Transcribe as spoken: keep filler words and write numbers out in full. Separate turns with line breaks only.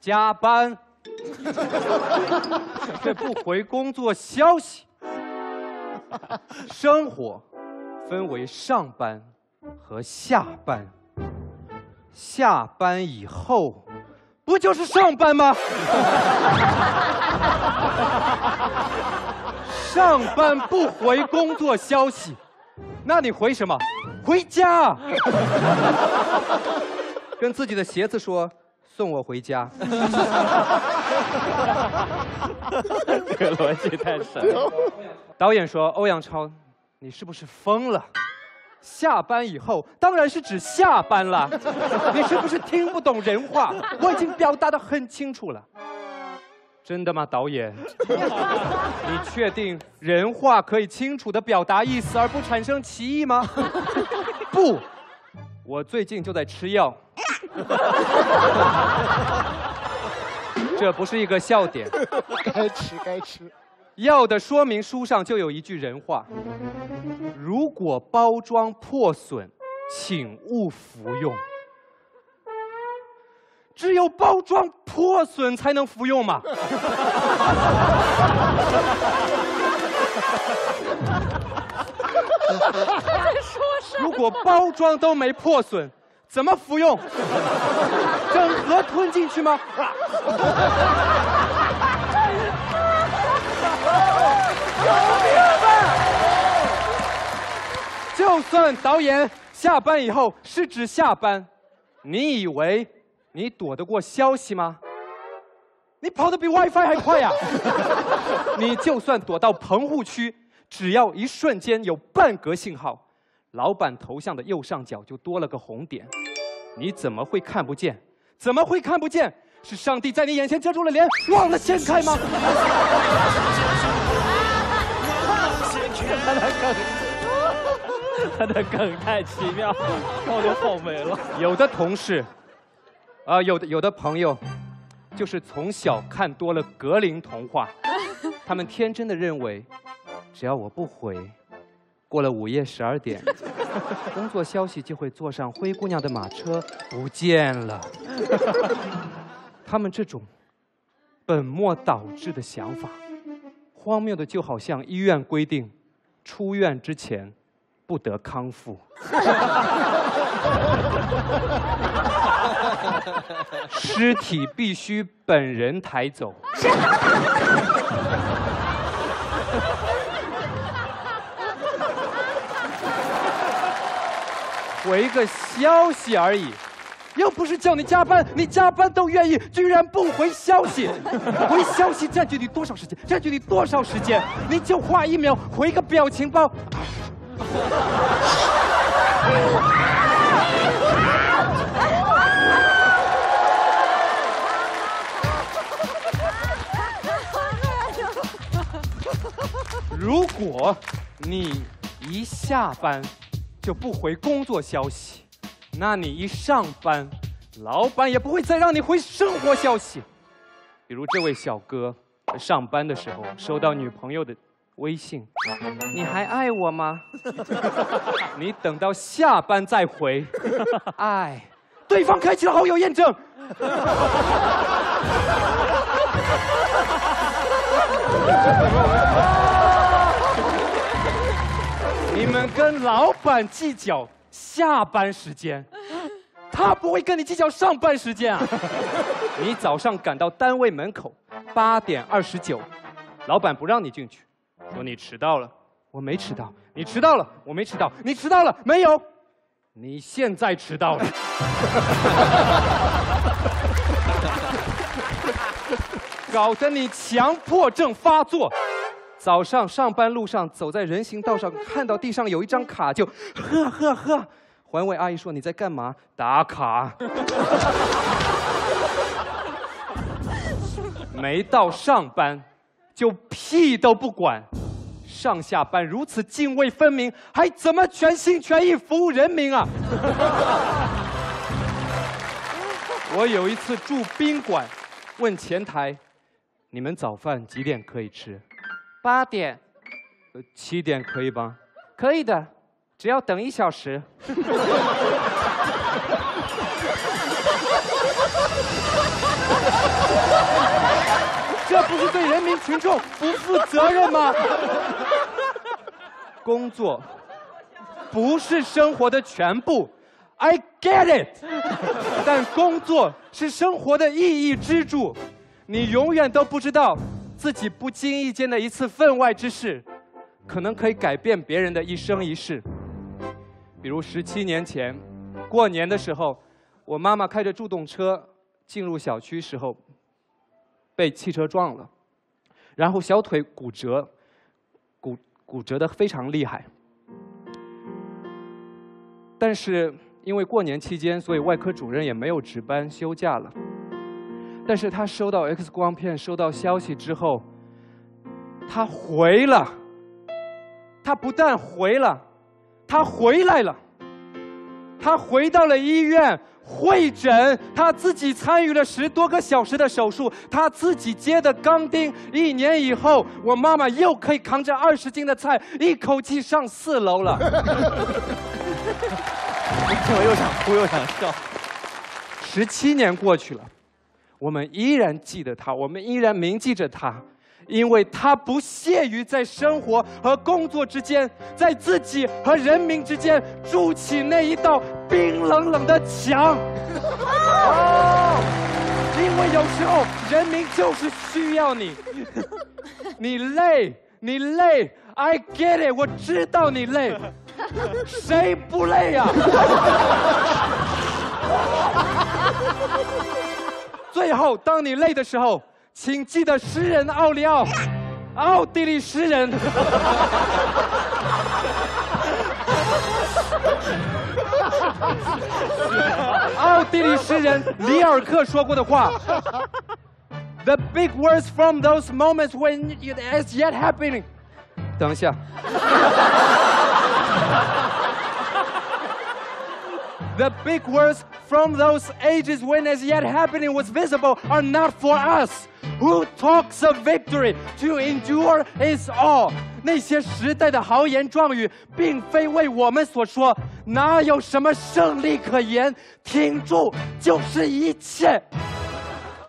加班，却不回工作消息。生活分为上班和下班，下班以后不就是上班吗？上班不回工作消息，那你回什么？回家。跟自己的鞋子说。 送我回家，这个逻辑太神了。导演说：“欧阳超，你是不是疯了？下班以后当然是指下班了，你是不是听不懂人话？我已经表达得很清楚了。真的吗，导演？你确定人话可以清楚地表达意思而不产生歧义吗？不，我最近就在吃药。” 这不是一个笑点，
该吃该吃。
药的说明书上就有一句人话：如果包装破损，请勿服用。只有包装破损才能服用嘛？如果包装都没破损。 怎么服用？整盒吞进去吗？有病吧！就算导演下班以后是指下班，你以为你躲得过消息吗？你跑得比 WiFi 还快呀！你就算躲到棚户区，只要一瞬间有半格信号。 老板头像的右上角就多了个红点，你怎么会看不见？怎么会看不见？是上帝在你眼前遮住了脸，忘了掀开吗？
他的梗，他的梗太奇妙，让我都跑没了。
有的同事，啊、呃，有的有的朋友，就是从小看多了格林童话，他们天真的认为，只要我不回。 过了午夜十二点，工作消息就会坐上灰姑娘的马车不见了。他们这种本末倒置的想法，荒谬的就好像医院规定，出院之前不得康复。尸体必须本人抬走。回个消息而已，又不是叫你加班，你加班都愿意，居然不回消息。回消息占据你多少时间？占据你多少时间？你就花一秒回个表情包。如果你一下班， 就不回工作消息，那你一上班，老板也不会再让你回生活消息。比如这位小哥在上班的时候收到女朋友的微信：“你还爱我吗？”你等到下班再回，爱，对方开启了好友验证。你们跟老板计较下班时间，他不会跟你计较上班时间啊！你早上赶到单位门口，八点二十九，老板不让你进去，说你迟到了。我没迟到，你迟到了，我没迟到，你迟到了没有？你现在迟到了。搞得你强迫症发作。早上上班路上走在人行道上，看到地上有一张卡，就呵呵呵。环卫阿姨说：“你在干嘛？”打卡。没到上班，就屁都不管。上下班如此泾渭分明，还怎么全心全意服务人民啊？我有一次住宾馆，问前台：“你们早饭几点可以吃？”八点。呃，七点可以吗？可以的，只要等一小时。 民群众不负责任吗？工作不是生活的全部 ，I get it。但工作是生活的意义支柱，你永远都不知道自己不经意间的一次分外之事，可能可以改变别人的一生一世。比如十七年前，过年的时候，我妈妈开着助动车进入小区时候，被汽车撞了，然后小腿骨折，骨骨折的非常厉害。但是因为过年期间，所以外科主任也没有值班休假了。但是他收到 X 光片、收到消息之后，他回了。他不但回了，他回来了。他回到了医院会诊，他自己参与了十多个小时的手术，他自己接的钢钉。一年以后，我妈妈又可以扛着二十斤的菜，一口气上四楼了。
我又想哭又想笑。
十七年过去了，我们依然记得他，我们依然铭记着他。因为他不屑于在生活和工作之间，在自己和人民之间筑起那一道冰冷冷的墙。哦，因为有时候人民就是需要你，你累，你累 ，I get it， 我知道你累，谁不累呀？最后，当你累的时候。请记得诗人奥利奥，奥地利诗人。奥地利诗人里尔克说过的话 ：“The big words from those moments when it is yet happening。”等一下。The big words from those ages when as yet happening was visible are not for us. Who talks of victory to endure is all. 那些时代的豪言壮语，并非为我们所说，哪有什么胜利可言？挺住就是一切。